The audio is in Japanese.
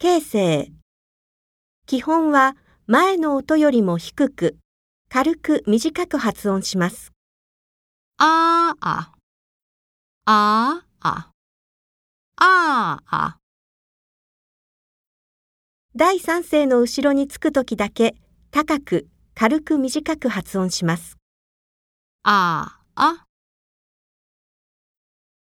形成。基本は前の音よりも低く、軽く短く発音します。 ああ、ああ、ああ。 第三声の後ろにつくときだけ高く軽く短く発音します。 ああ。